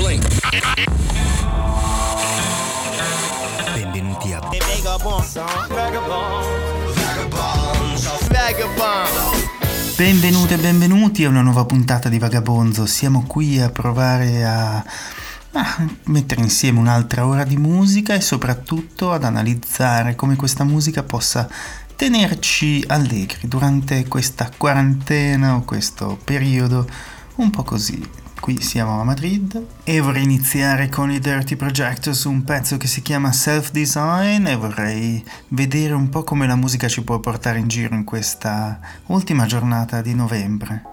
Blink. Benvenuti a Benvenute e benvenuti a una nuova puntata di Vagabonzo. Siamo qui a provare a mettere insieme un'altra ora di musica e soprattutto ad analizzare come questa musica possa tenerci allegri durante questa quarantena o questo periodo un po' così. Qui siamo a Madrid e vorrei iniziare con i Dirty Projectors, un pezzo che si chiama Self Design, e vorrei vedere un po' come la musica ci può portare in giro in questa ultima giornata di novembre.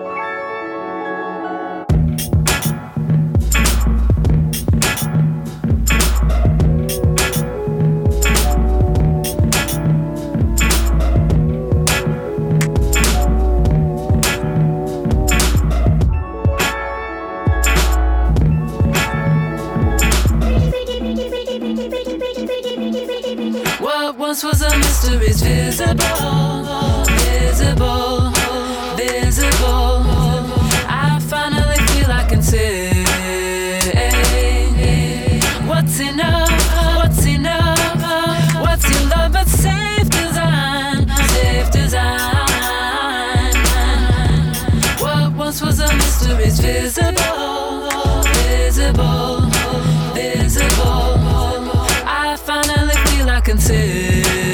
Once was a mystery is visible, visible, visible. I finally feel I can say what's enough, what's enough, what's your love but safe design, safe design. What once was a mystery is visible, visible, visible. I finally feel I can say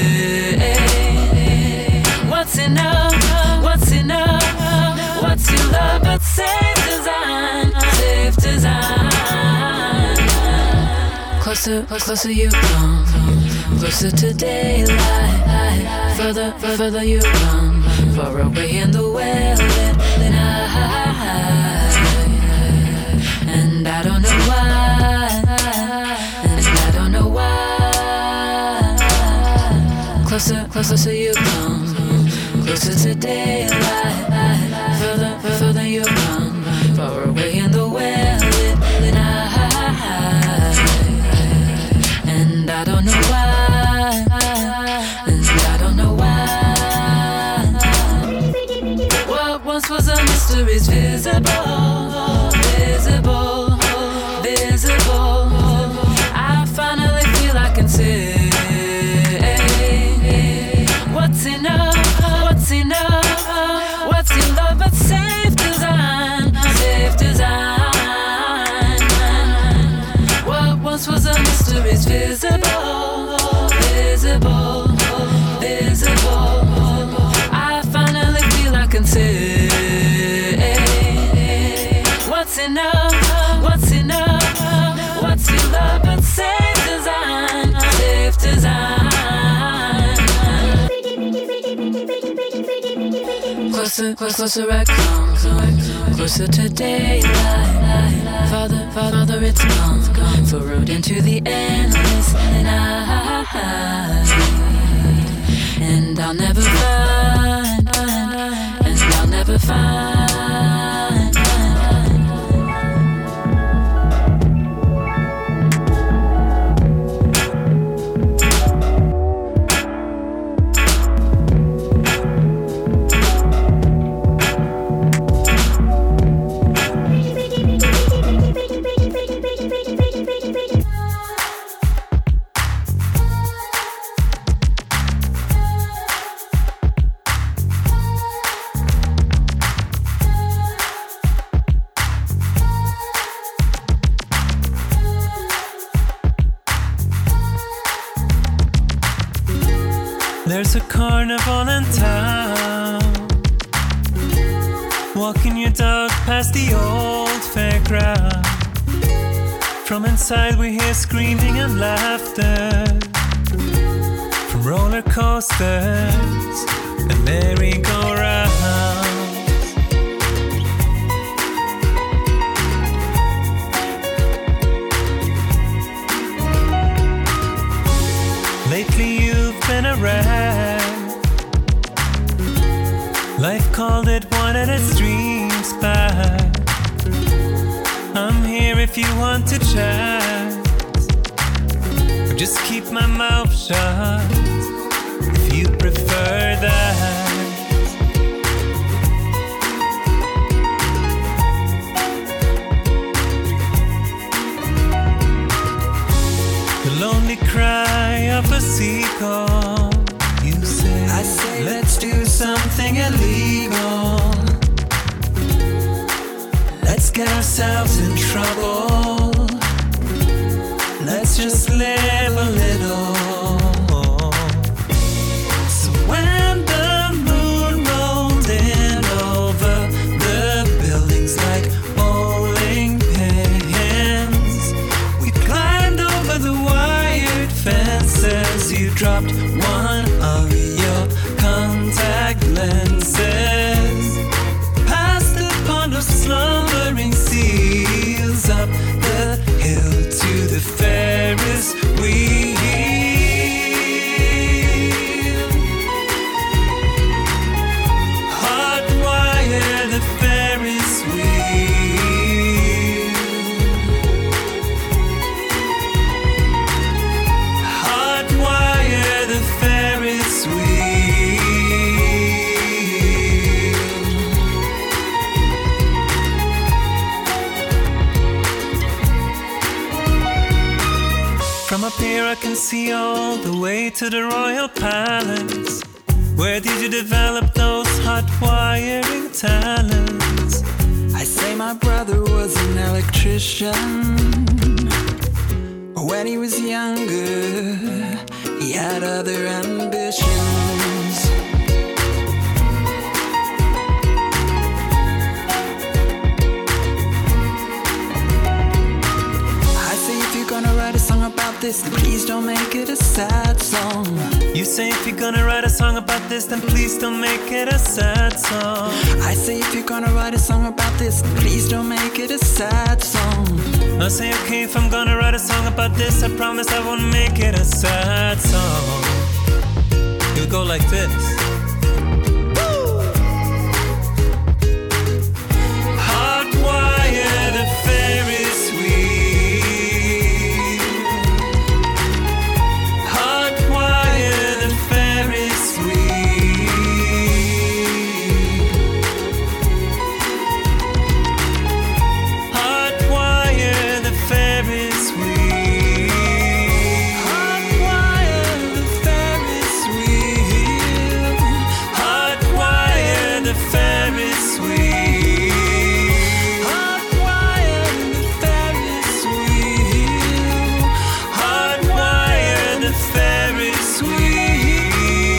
what's enough, what's enough, what's your love but safe design, safe design. Closer, closer you come, closer to daylight. Further, further you run, far away in the well-lit night. And I don't know why, and I don't know why. Closer, closer you come, closer to daylight. Further, further you run, far away in the well-lit night. And I don't know why, and I don't know why. What once was a mystery is visible, visible, visible. I finally feel I can say what's enough, what's enough, what's your love but safe design, safe design. What once was a mystery is visible, visible, visible. I finally feel I can say what's enough, what's enough, what's your love but safe design, safe design. Closer, closer I come, closer to daylight. Father, father, it's gone, furrowed into the endless night. And I'll never find, and I'll never find. There's a carnival in town. Walking your dog past the old fairground. From inside we hear screaming and laughter, from roller coasters and merry-go-rounds. Lately you've been a wreck. Life called it, wanted its dreams back. I'm here if you want to chat, or just keep my mouth shut if you prefer that. get ourselves in trouble. Let's just live a little. So when the moon rolled in over the buildings like bowling pins, we climbed over the wired fences. You dropped one of your contact lenses past the pond of slumbering seals, up the hill to the Ferris wheel. Hardwire the Ferris wheel. Hardwire the Ferris wheel. From up here I can see all the way to the Royal Palace. Where did you develop those hot wiring talents? I say my brother was an electrician. When he was younger, he had other ambitions. I say if you're gonna write a song about this, then please don't make it a sad song. You say if you're gonna write a song about this, then please don't make it a sad song. I say if you're gonna write a song about this, then please don't make it a sad song. I say okay, if I'm gonna write a song about this, I promise I won't make it a sad song. It'll go like this. Hardwire the Ferris wheel. Hardwire the Ferris wheel. Hardwire the Ferris wheel. Hardwire the Ferris wheel. Hardwire the Ferris wheel. Hardwire the Ferris wheel. Hardwire the Ferris wheel.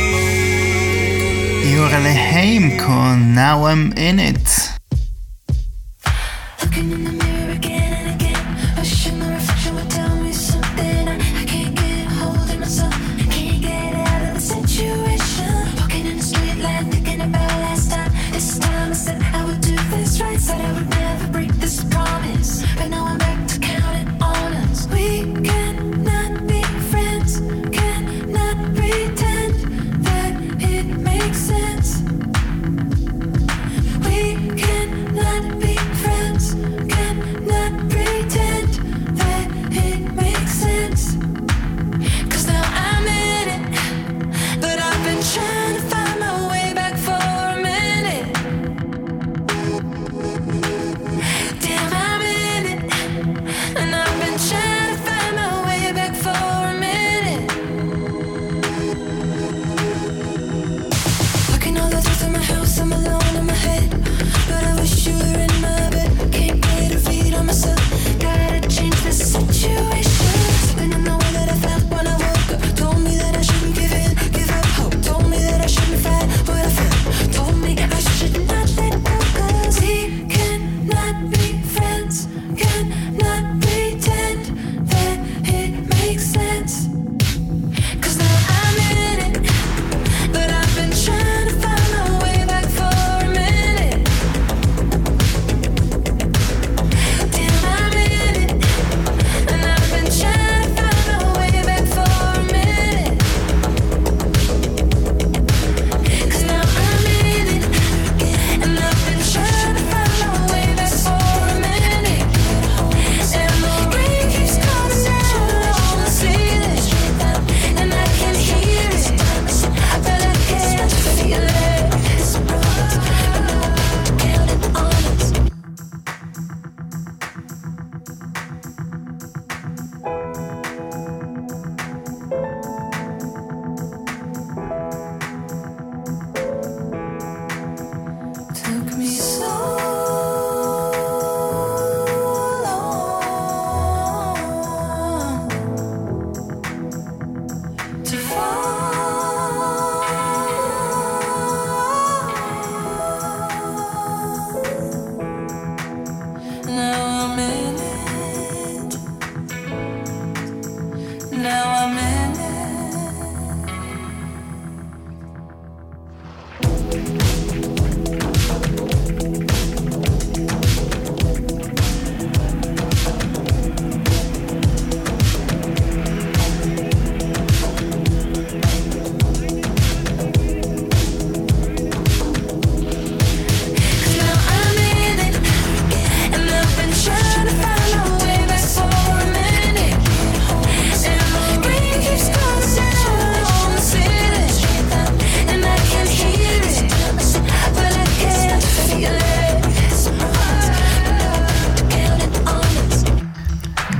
E ora le Haim con Now I'm In It. Looking in the mirror again and again, wishing the reflection would tell me something. I can't get a hold of myself, can't get out of the situation. Walking in the street light, thinking about last time. This time I said I would do this right, said I would never break this promise. But now I'm back to counting on us. We cannot be friends, cannot pretend that it makes sense. We can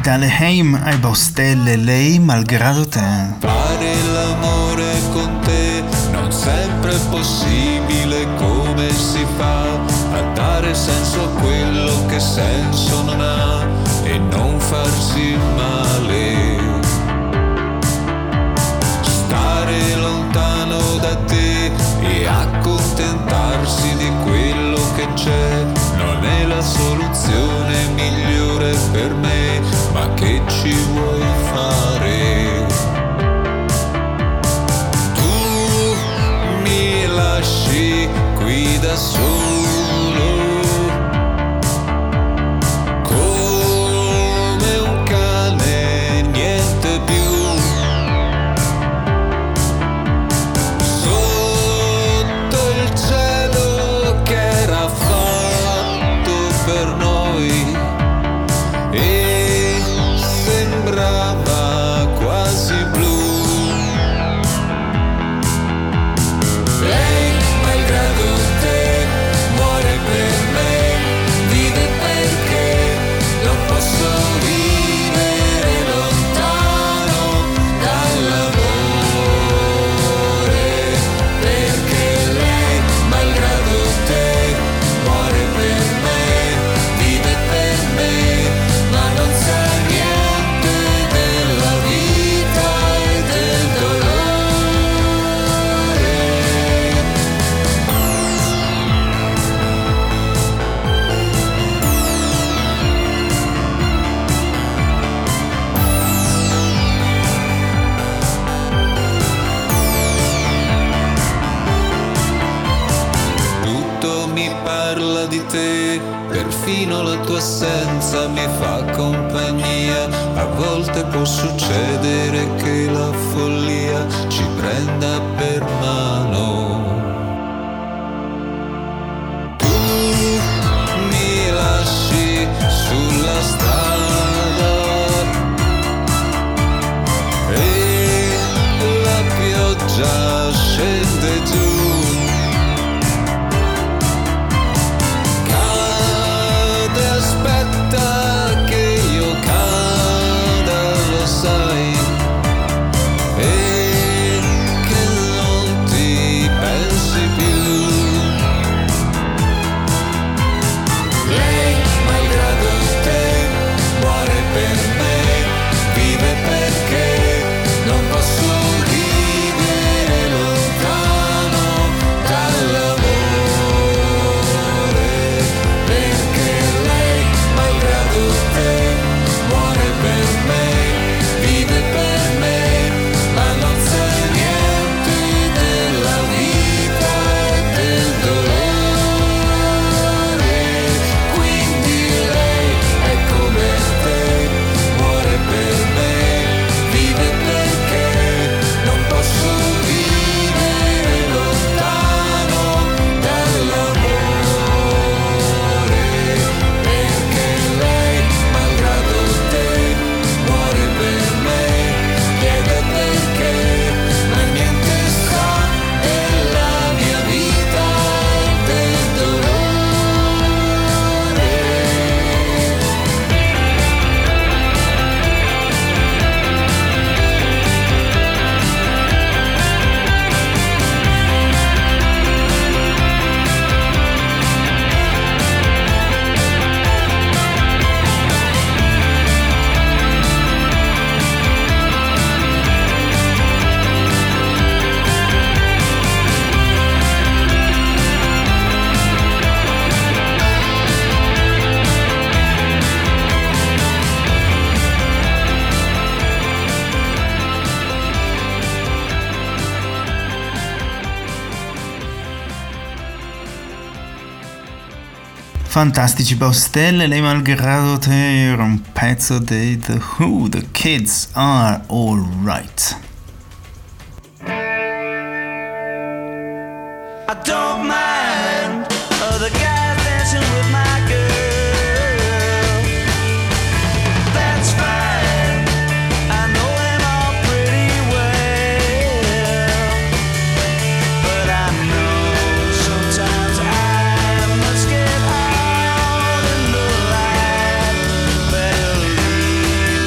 Dalle Haim ai Baustelle, lei malgrado te. Fare l'amore con te non sempre è possibile, come si fa a dare senso a quello che senso non ha e non farsi male? Stare lontano da te e accontentarsi di quello che c'è non è la soluzione migliore per me, ma che ci vuoi fare? Tu mi lasci qui da solo, come un cane, niente più. Sotto il cielo che era fatto per noi e sembrava quasi blu. Lei, malgrado te, muore per me, vive perché non posso vivere lontano dall'amore. Perché lei, malgrado te, muore per me, vive per me, ma non sa niente della vita e del dolore. Tutto mi parla di te, perfino la tua assenza mi fa compagnia. A volte può succedere che la follia ci prenda per mano. Tu mi lasci sulla strada e la pioggia scende giù. Cade, aspetta che io cada, lo sai, e che non ti pensi più. Lei, malgrado te, muore per me, vive perché non posso vivere lontano dall'amore. Perché lei, malgrado te, muore per me, vive per me, ma non sa niente della vita e del dolore. Quindi lei è come te, muore per me, vive perché non posso vivere lontano dall'amore. Perché lei, malgrado te, muore per me, chiede perché, ma niente sa della mia vita e del dolore. Fantastici Baustelle, lei malgrado te era un pezzo dei The Who, The Kids Are Alright. I don't mind other guys dancing with my girl. That's fine. I know them all pretty well. But I know sometimes I must get out in the light. Better leave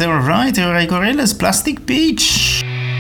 alright, ora i Gorillaz, Plastic Beach.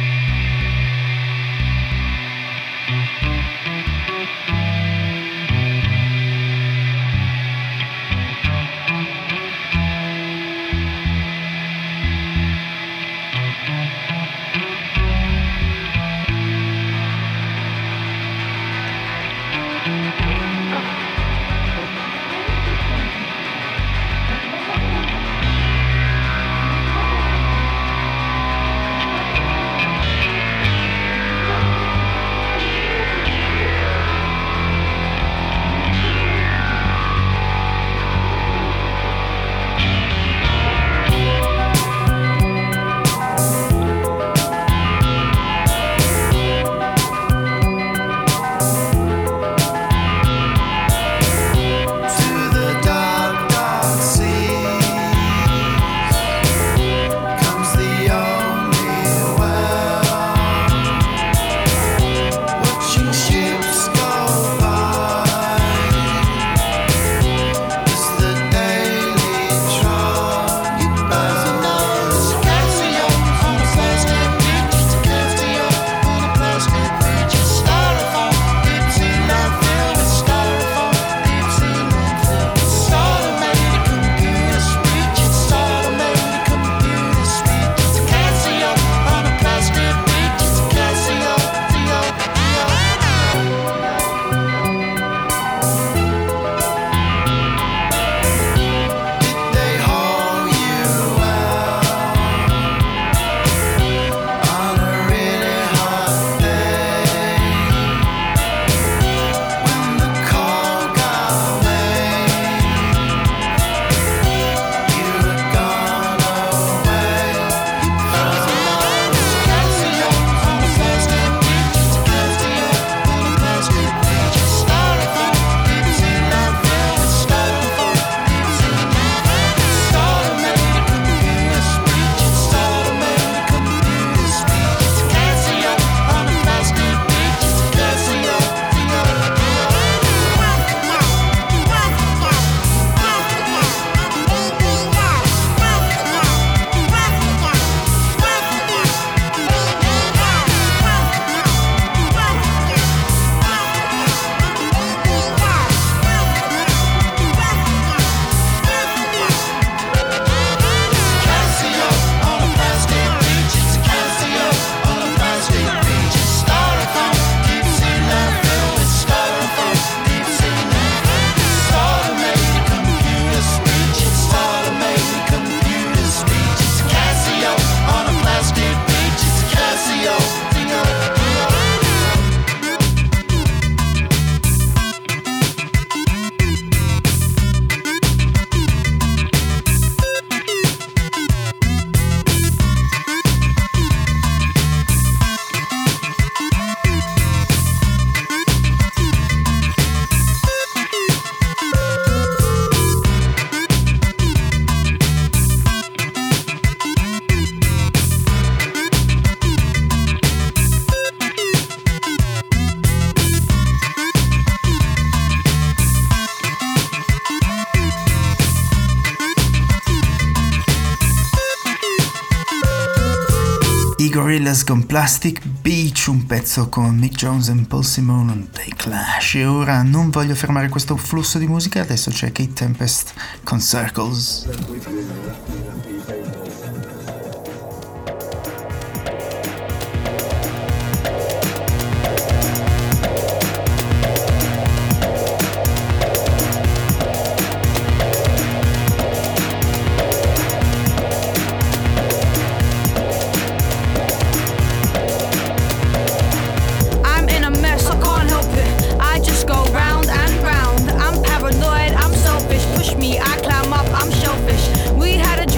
Gorillaz con Plastic Beach, un pezzo con Mick Jones e Paul Simon dei Clash. E ora non voglio fermare questo flusso di musica, adesso c'è Kate Tempest con Circles. I'm paranoid, I'm selfish. Push me, I climb up, I'm shellfish. We had a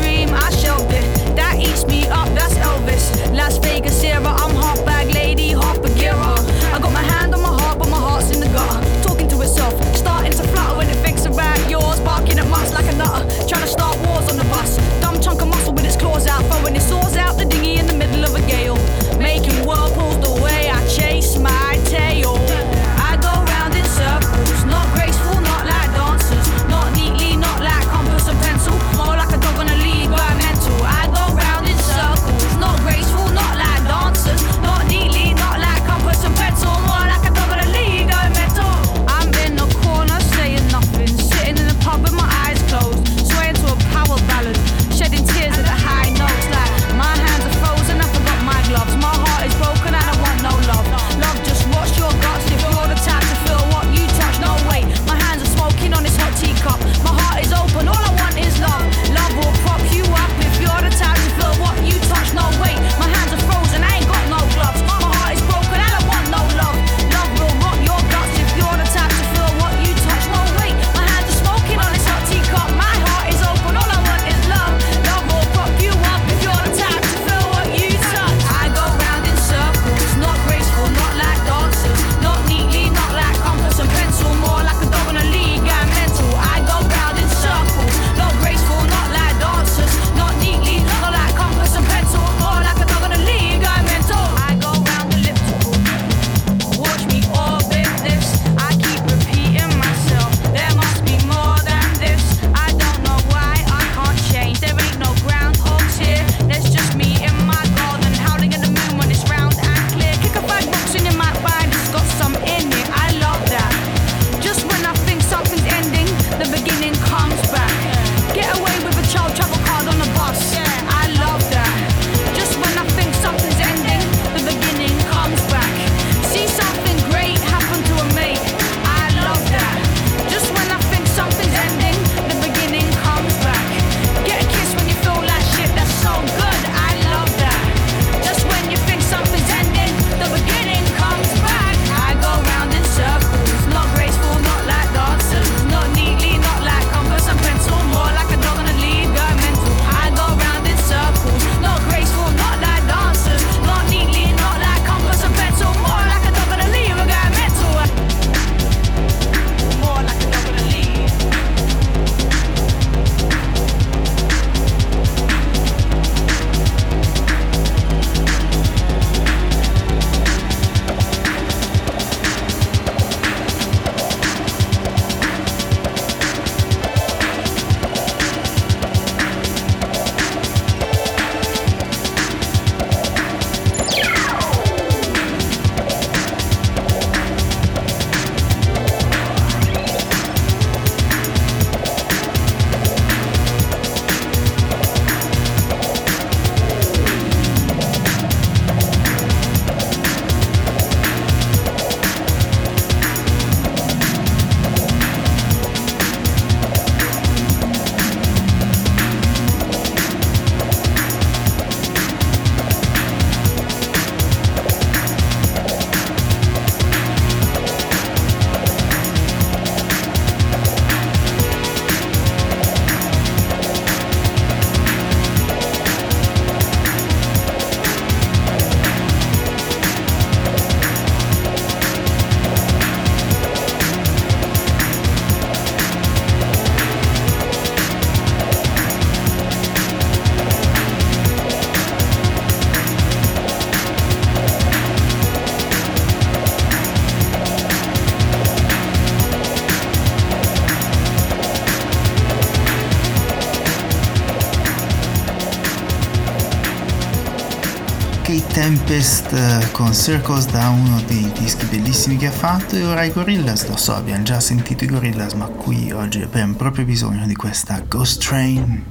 Tempest con Circles da uno dei dischi bellissimi che ha fatto, e ora i Gorillaz. Lo so, abbiamo già sentito i Gorillaz, ma qui oggi abbiamo proprio bisogno di questa Ghost Train.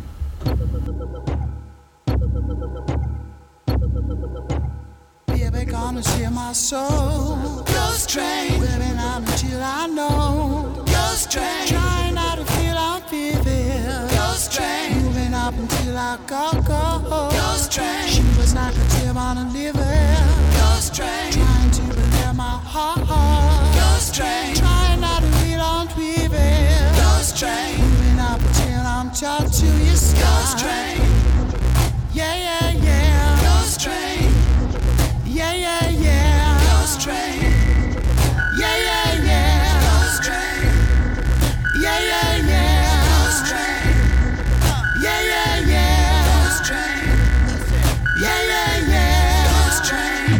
Baby, gonna share my soul. Ghost train, living out until I know. Ghost train, trying not to feel I'm feeling. Ghost train, moving up until I go. Ghost train, she was like a tip on a liver. Ghost train, trying to prepare my heart. Ghost train, trying not to feel I'm feeling. Ghost train, moving up until I'm tied to your sky. Ghost train, yeah, yeah, yeah. Ghost train. Yeah, yeah, yeah. Ghost train. Yeah, yeah, yeah. Ghost train. Yeah, yeah, yeah. Ghost train. Yeah, yeah, yeah. Ghost train. Yeah, yeah, yeah. Ghost train.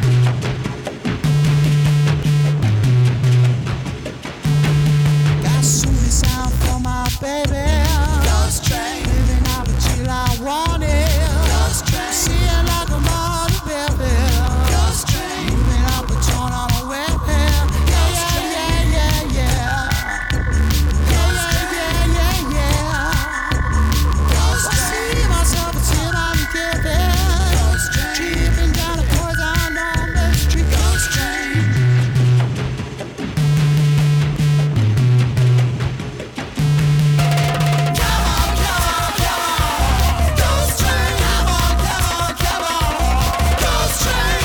Got sweet sound for my baby. Ghost train. Living out until I want it. Ghost train. Seeing like a mother baby. Moving up a tone on a web. Yeah, yeah, yeah, yeah, yeah. Yeah, yeah, yeah, yeah. I see myself until I'm giving. Tripping down the poison on the street. Ghost train. Come on, come on, come on. Ghost train. Come on, come on, come on. Ghost train.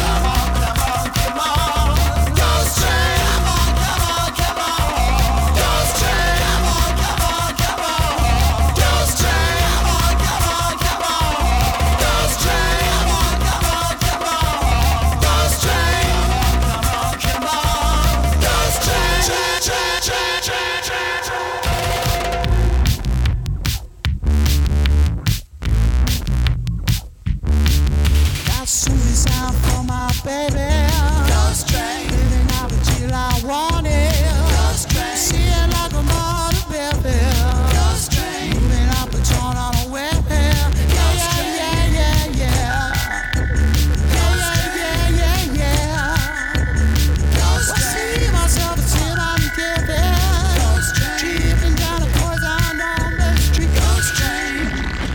Got sweet sound for my baby. Ghost train. Living out until I want it. Ghost train. Seeing like a mother baby. Ghost train. Moving up a tone on a web. Yeah, yeah, yeah, yeah, yeah. Yeah, yeah, yeah, yeah, yeah. Ghost train. I see myself until I'm giving. Ghost train. Tripping down the poison on the street. Ghost train.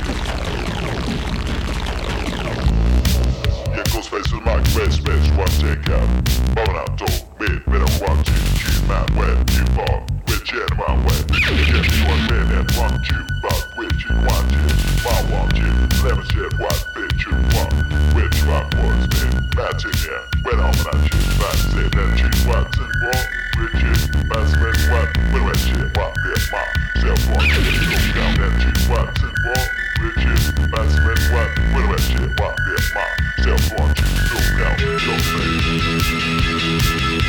Yeah, Ghostface is my best, one take out. Bone out, door, bed, better watch you. Keep my wet, you fall, which end my wet. Yeah, you want men and want you, but which you want you. I want you, never said what bitch you want. Which one was it? That's in ya, when I'm not you. That's it, that you what's in war. Which is, that's when what, when I shit, what, yeah, my self want you. Look down that you what's in war. Which is, that's when what, when I shit, what, yeah, my self want you. Look down, don't say.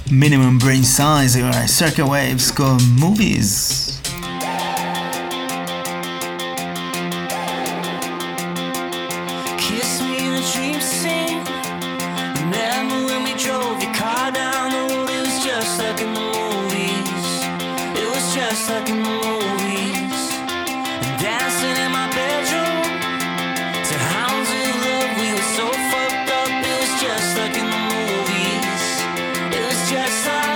Minimum Brain Size, ora Circa Waves con Movies. Kiss me in a dream scene. Remember when we drove your car down the road? It was just like in the movies. It was just like in the movies. And dancing in my bedroom to hounds of love. We were so fucked up. It was just like in the movies. It was just like.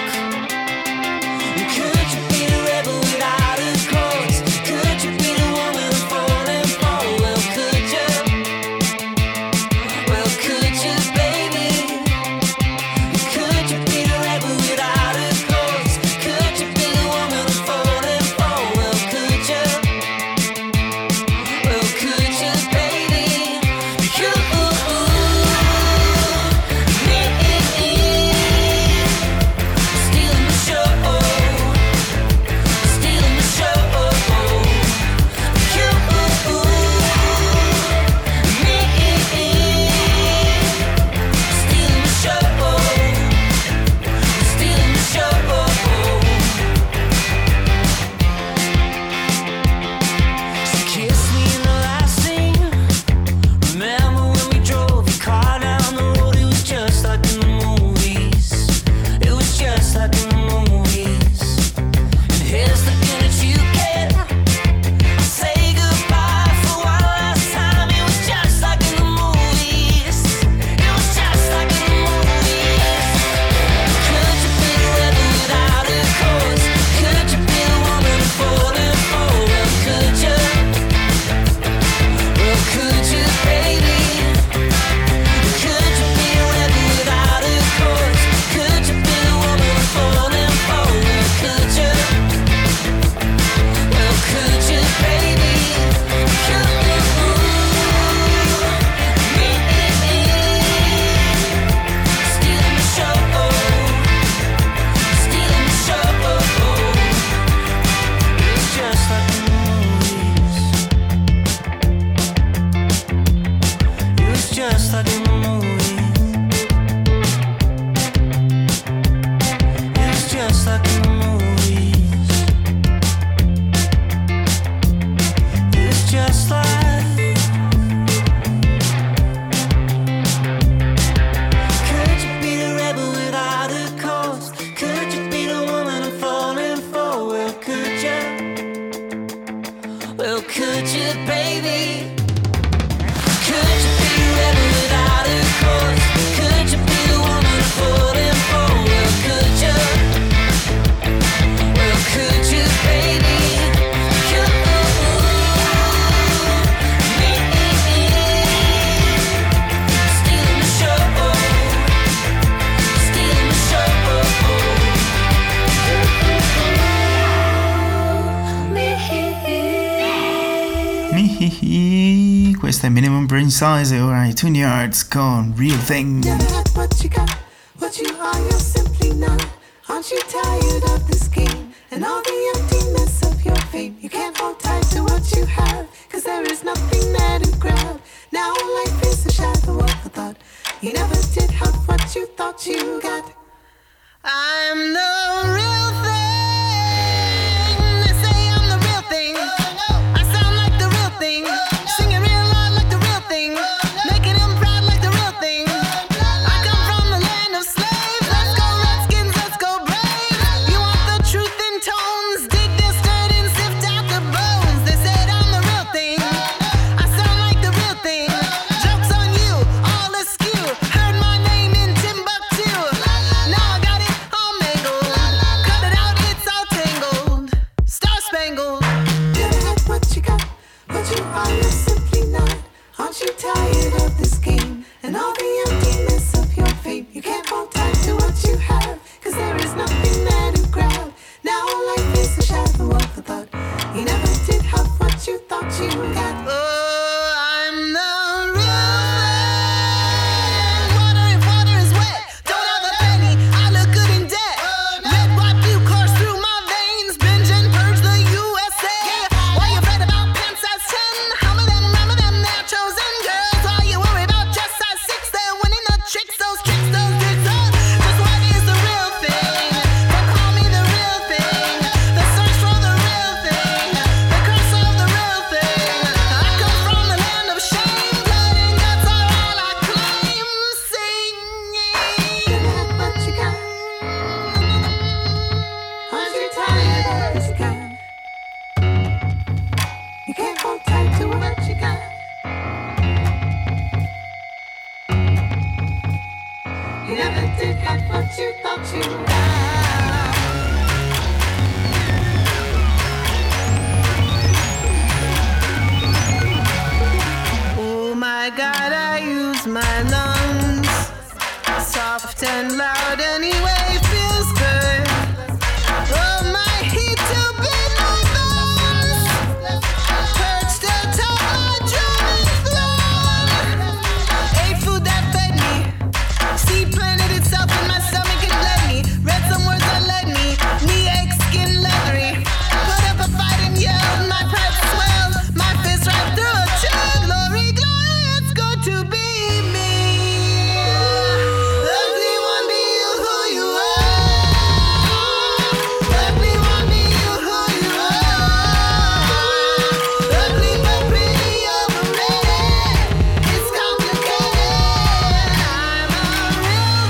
Could you be the rebel without a cause? Could you be the woman I'm falling for? Well, could you? Well, could you, baby? Could you be the rebel without a cause? Could you be the woman I'm falling for? Well, could you? Well, could you, baby? You, me, stealing the show. Stealing the show. You, me, stealing the show. Stealing the show. So kiss me in the last scene. Remember when we drove your car down the road? It was just like in the movies. It was just like in the movies. And here's the thing that you get. Say goodbye for one last time. It was just like in the movies. It was just like in the movies. Could you be the rebel without a cause? Could you be the woman I'm falling for? Well, could you? Well, could you, baby? Could you be the rebel without a cause? Could you be the woman I'm falling for? Well, could you? Well, could you, baby? Could you? Me, stealing the show. Stealing the show. It's just like in the movies. It was just like in the movies. It was just like in the movies. It was just like. Could you be the rebel without a cause? Could you be the woman I'm falling for? Well, could you? Well, could you, baby? Could you be the rebel without a cause? Could you be the woman I'm falling for? Well, could you? Well, could you, baby? Could me, stealing the show. Stealing the show. Mihihi, questa è Minimum Brain Size e ora i Tune Yards con Real Thing. Never had what you got, what you are, you're simply not. Aren't you tired of this game and all the emptiness of your fame? You can't hold tight to what you have, cause there is nothing there to grab. Now life is a shadow of a thought. You never did have what you thought you got. I'm the real thing. They say I'm the real thing. I sound like the real thing. Singing real loud like the real thing. Making them proud like the real thing. I come from the land of slaves. Let's go Redskins, let's go Braves. You want the truth in tones? Dig this dirt and sift out the bones. They said I'm the real thing. I sound like the real thing. Jokes on you, all askew. Heard my name in Timbuktu. Now I got it all mangled. never did have what you thought you had. Oh my God, I use my lungs, soft and loud anyway, feels good. Oh my heat to bend my bones, perched atop my drumming throne. Ate food that fed me, seed planted itself in my stomach and bled me. Read some words that led me, knee ache, skin leathery. Put up a fight and yelled, my pipes swelled, my fist right through a chug. Glory, glory, it's good to be me. Ugly one, be you who you are. Ugly one, be you who you are. Ugly but pretty overrated. It's complicated. I'm a real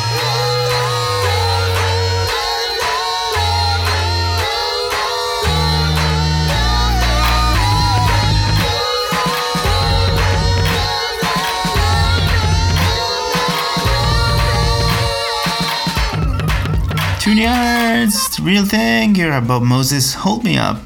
Tune yards, real thing. You're about Moses. Hold me up.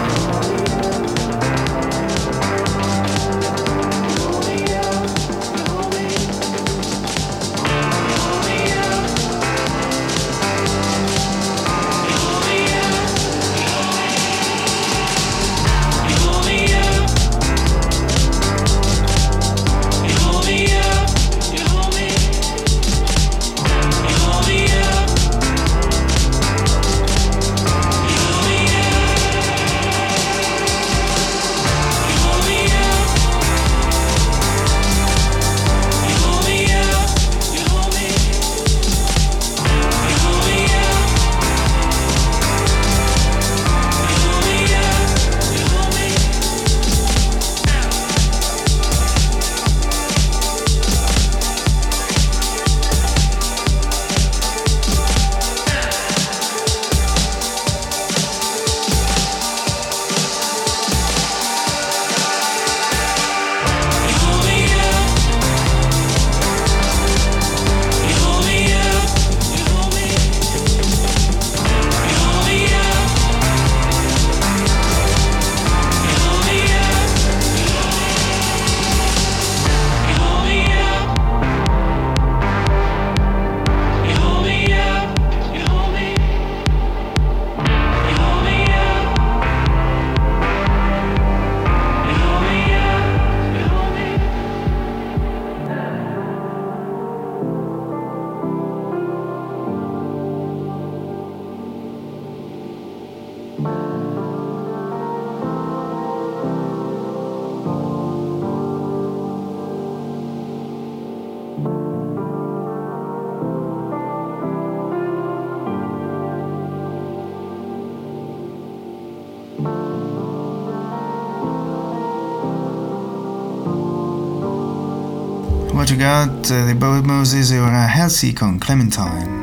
What you got? The Boat Moses e ora Halsey con Clementine.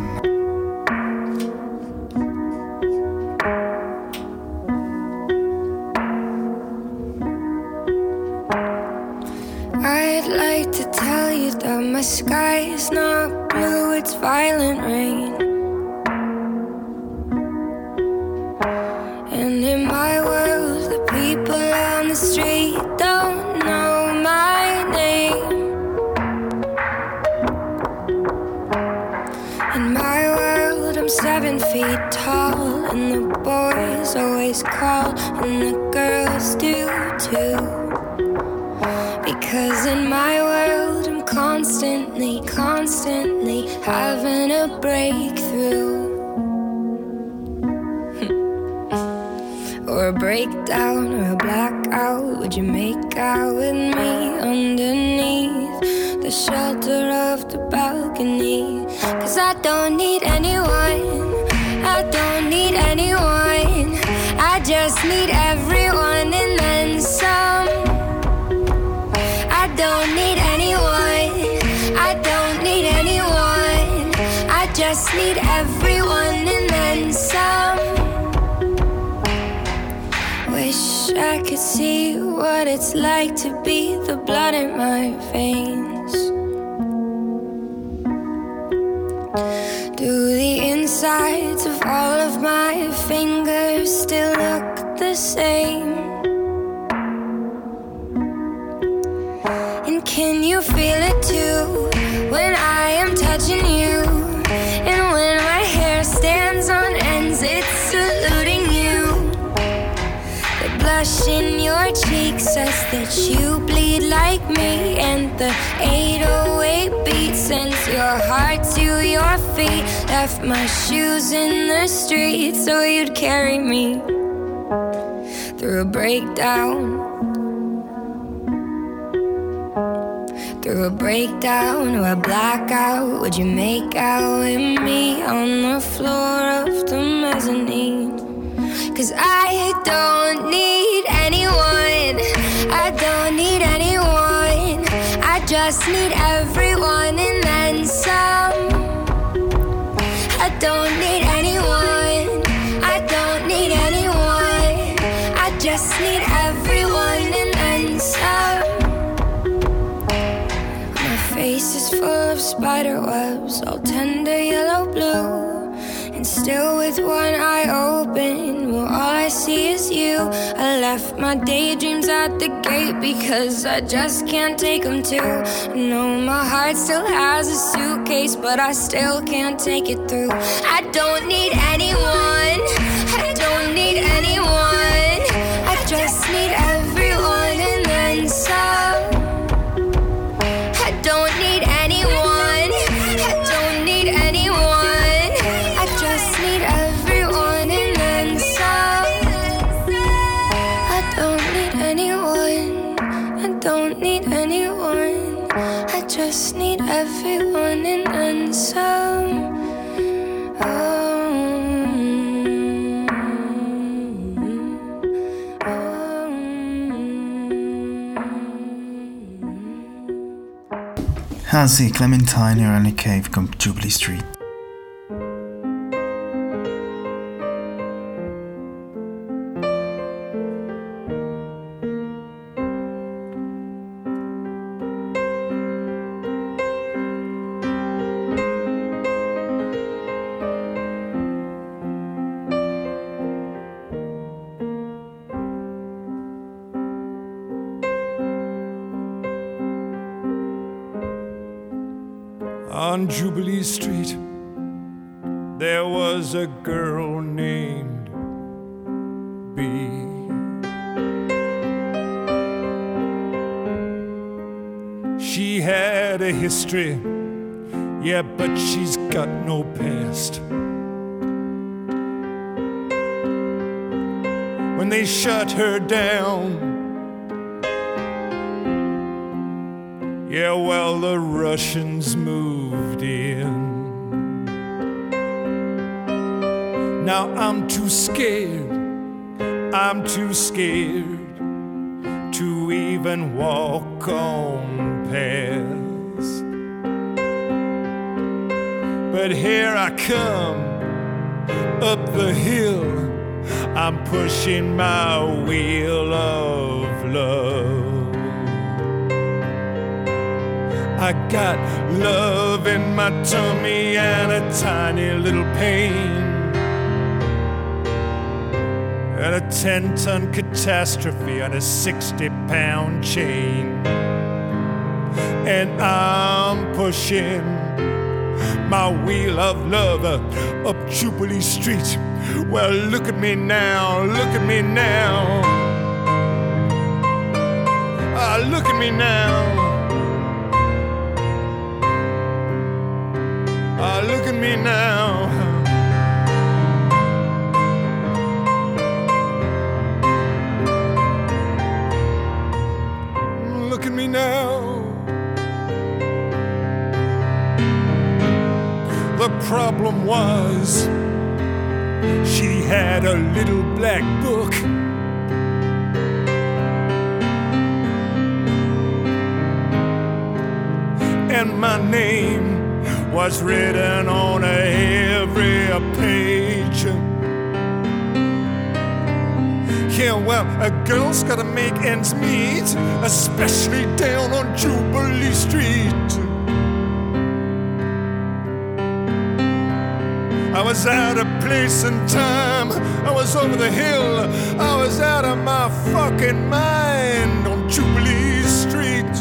I'd like to tell you that my sky is not blue, it's violent rain. And in my world, the people on the street don't know my name. In my world, I'm 7 feet tall, and the boys always call, and the girls do too. Because in my world, I'm constantly having a breakthrough. Or a breakdown or a blackout. Would you make out with me underneath the shelter of the balcony? 'Cause I don't need anyone, I don't need anyone, I just need everyone and then some. I don't need anyone, I don't need anyone, I just need everyone and then some. Wish I could see what it's like to be the blood in my veins. my fingers still look the same. And can you feel it too when I am touching you? And when my hair stands on ends, it's saluting you. The blush in your cheek says that you bleed like me, and the 808 beat sends your heart to your feet. Left my shoes in the street so you'd carry me through a breakdown. Through a breakdown or a blackout, would you make out with me on the floor of the mezzanine? 'Cause I don't need anyone, I don't need anyone, I just need everyone and then some. I don't need anyone, I don't need anyone, I just need everyone and then some. Face is full of spider webs, all tender yellow blue, and still with one eye open, well all I see is you. I left my daydreams at the gate because I just can't take them too. No, my heart still has a suitcase, but I still can't take it through. I don't need anyone, I don't need anyone, I just need everyone and then some. I don't need anyone, I don't need anyone, I just need everyone and then some. I don't need anyone, I don't need anyone, I just need everyone and then some. Ah sì, Clementine e Ronnie Cave con Jubilee Street. On Jubilee Street, there was a girl named Bee. She had a history, yeah, but she's got no past. When they shut her down, yeah, well, the Russians moved in. Now I'm too scared to even walk on past. But here I come up the hill, I'm pushing my wheel of love. I got love in my tummy and a tiny little pain, and a 10-ton catastrophe on a 60-pound chain. And I'm pushing my wheel of love up Jubilee Street. Well, look at me now, look at me now. Look at me now. Look at me now. Look at me now. The problem was she had a little black book, and my name was written on every page. Yeah, well, a girl's gotta make ends meet, especially down on Jubilee Street. was out of place and time. I was over the hill. I was out of my fucking mind on Jubilee Street.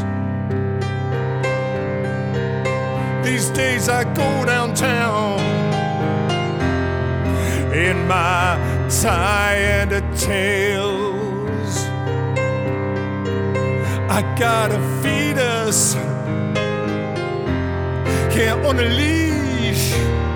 These days I go downtown in my tie and a tails. I got a fetus here on a leash.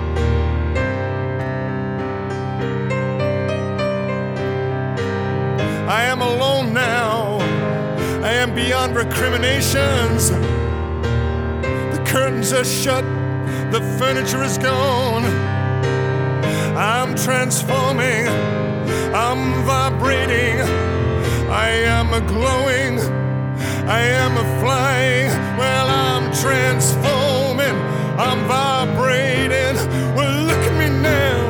I am alone now. I am beyond recriminations. The curtains are shut. The furniture is gone. I'm transforming. I'm vibrating. I am a glowing. I am a flying. Well, I'm transforming. I'm vibrating. Well, look at me now.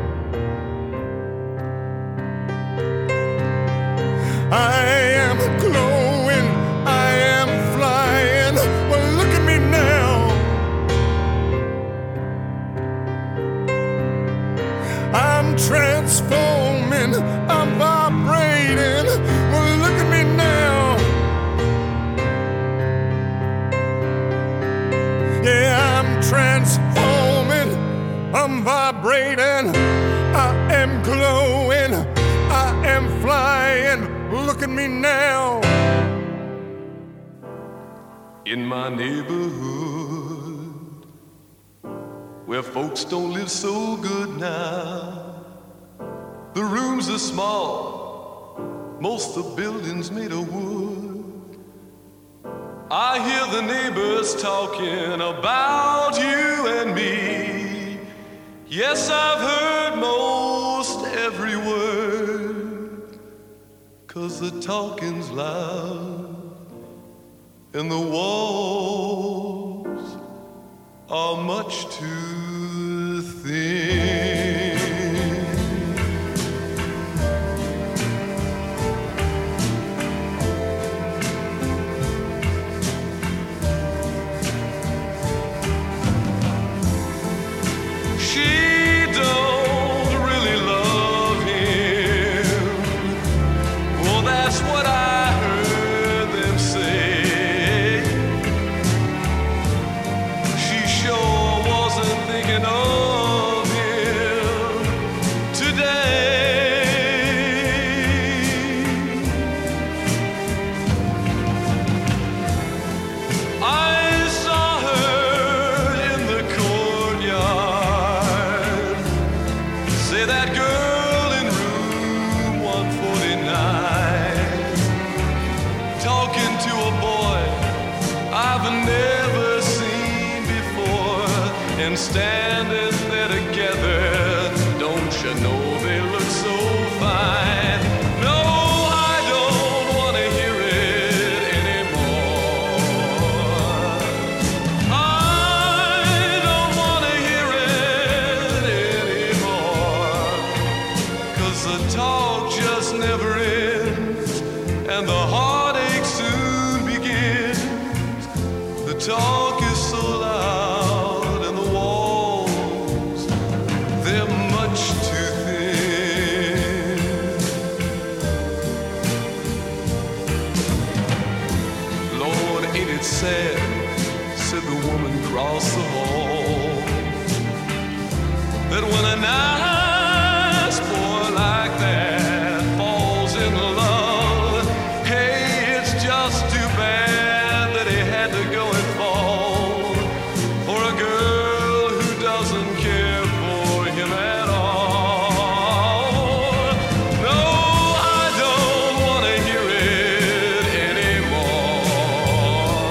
I am glowing, I am flying. Well, look at me now. I'm transforming, I'm vibrating. Well, look at me now. Yeah, I'm transforming, I'm vibrating. I am glowing, I am flying. Look at me now. In my neighborhood, where folks don't live so good now, the rooms are small, most of the buildings made of wood. I hear the neighbors talking about you and me. Yes, I've heard most every word. 'Cause the talking's loud and the walls are much too thin. She don't really love him. Well, that's what I heard them say. She sure wasn't thinking of him today. I saw her in the courtyard. Say that girl in room 149, talking to a boy I've never seen before, and standing there together. Don't you know they look so fine? No, I don't want to hear it anymore. I don't want to hear it anymore. 'Cause the talk just never ends, and the heartache soon begins. The talk is so loud, and the walls, they're much too thin. Lord, ain't it sad, said the woman across the hall, that when a nice boy like that falls in love, hey, it's just too bad that he had to go and fall for a girl who doesn't care for him at all. No, I don't want to hear it anymore.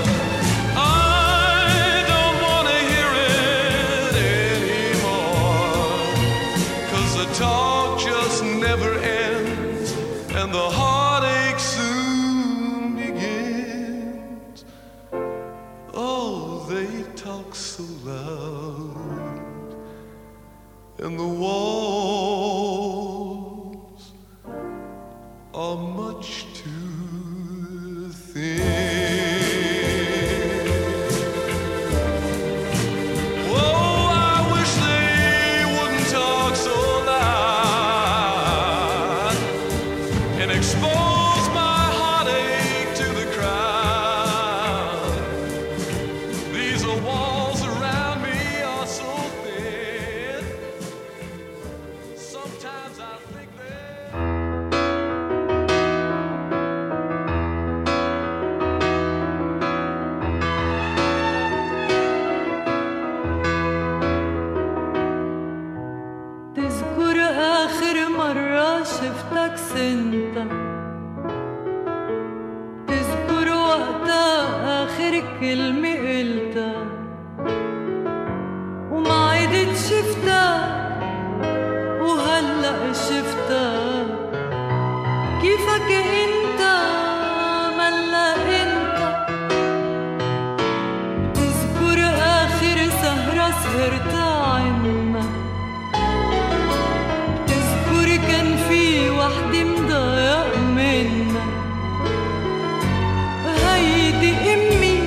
I don't want to hear it anymore. 'Cause the talk just never ends, and the heartache soon begins. Oh, they talk so loud, and the walls are much too thin. Oh, I wish they كلمة قلتها وما عدت شفتها وهلأ شفتها كيفك انت ملا انت تذكر اخر سهرة سهرتها عنا تذكر كان في وحدة مضايق منا هيدي امي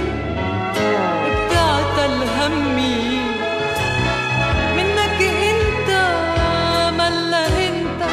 بتعتل همي منك انت ملا انت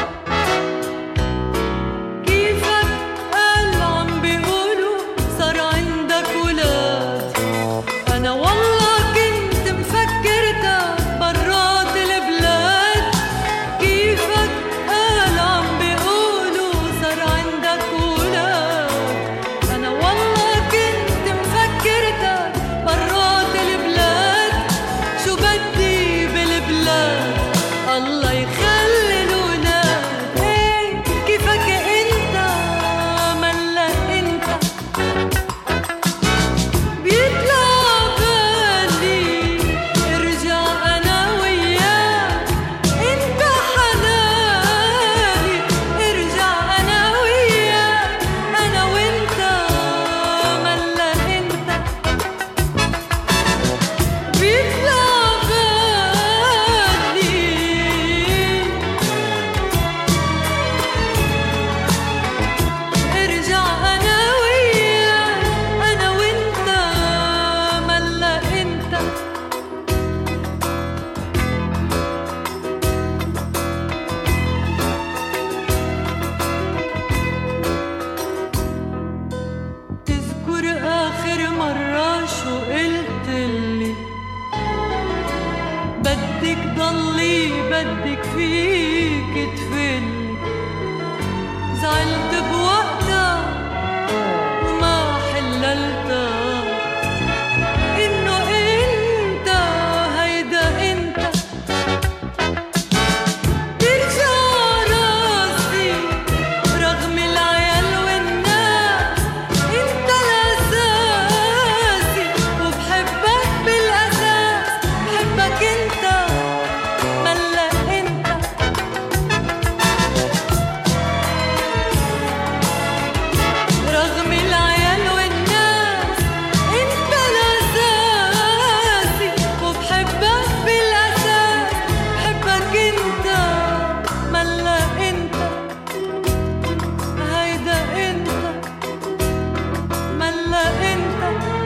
كيفك قال عم بيقولوا صار عندك ولاد انا والله كنت مفكرتك برات البلاد كيفك قال عم بيقولوا صار عندك ولاد انا والله كنت مفكرتك برات البلاد شو بدي بالبلاد الله يخلي الولاد ايه كيفك انت ملا انت بيطلع بالي ارجع انا وياك انت حناني ارجع انا وياك انا وانت ملا انت بيطلع بالي ارجع انا وياك انا وانت ملا انت تذكر آخر مرة شو قلتلي بدك ضلي بدك فيك تفلي زعلت بوقتها وما حللتها إنه أنت هيدا أنت ترجع راسي رغم العيال والناس انت الاساسي وبحبك بالاساس بحبك انت ملا انت رغم العيال والناس انت الاساسي وبحبك بالاساس بحبك انت ملا انت هيدا انت ملا انت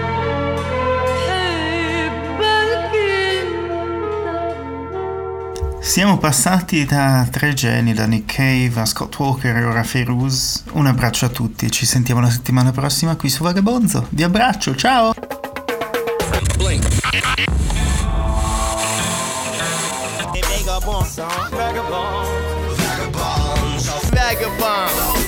بحبك انت. Siamo passati da tre geni, da Nick Cave a Scott Walker e ora a Feiruz. Un abbraccio a tutti e ci sentiamo la settimana prossima qui su Vagabonzo. Vi abbraccio, ciao! Vagabond.